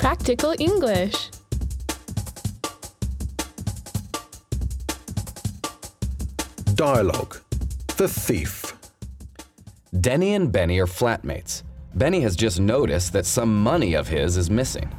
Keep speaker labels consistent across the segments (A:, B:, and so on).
A: Practical English.
B: Dialogue. The thief.
C: Denny and Benny are flatmates. Benny has just noticed that some money of his is missing.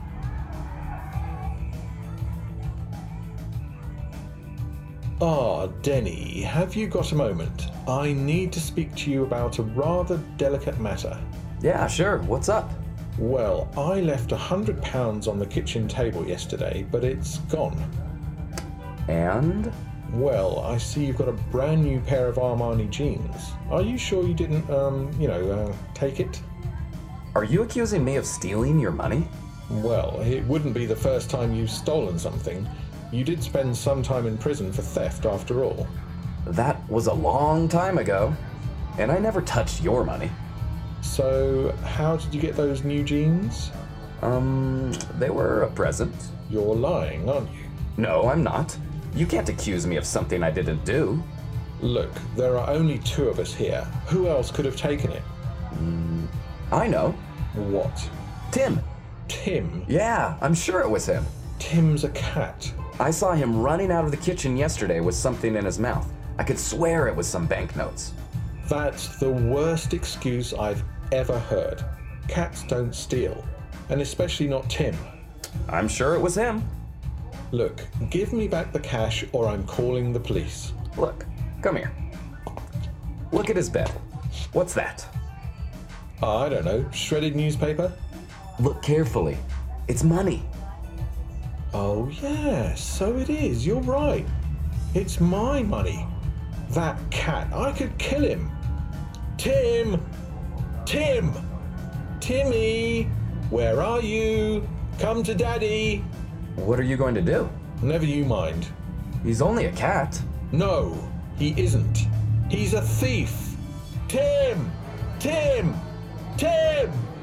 B: Denny, have you got a moment? I need to speak to you about a rather delicate matter.
C: Yeah, sure. What's up?
B: Well, I left £100 on the kitchen table yesterday, but it's gone.
C: And?
B: Well, I see you've got a brand new pair of Armani jeans. Are you sure you didn't, take it?
C: Are you accusing me of stealing your money?
B: Well, it wouldn't be the first time you've stolen something. You did spend some time in prison for theft after all.
C: That was a long time ago, and I never touched your money.
B: So, how did you get those new jeans?
C: They were a present.
B: You're lying, aren't you?
C: No, I'm not. You can't accuse me of something I didn't do.
B: Look, there are only two of us here. Who else could have taken it?
C: I know.
B: What?
C: Tim.
B: Tim?
C: Yeah, I'm sure it was him.
B: Tim's a cat.
C: I saw him running out of the kitchen yesterday with something in his mouth. I could swear it was some banknotes.
B: That's the worst excuse I've ever heard. Cats don't steal, and especially not Tim.
C: I'm sure it was him.
B: Look, give me back the cash or I'm calling the police.
C: Look, come here. Look at his bed. What's that?
B: I don't know, shredded newspaper?
C: Look carefully. It's money.
B: Oh yeah, so it is, you're right. It's my money. That cat, I could kill him. Tim! Tim! Timmy! Where are you? Come to Daddy!
C: What are you going to do?
B: Never you mind.
C: He's only a cat.
B: No, he isn't. He's a thief. Tim! Tim! Tim!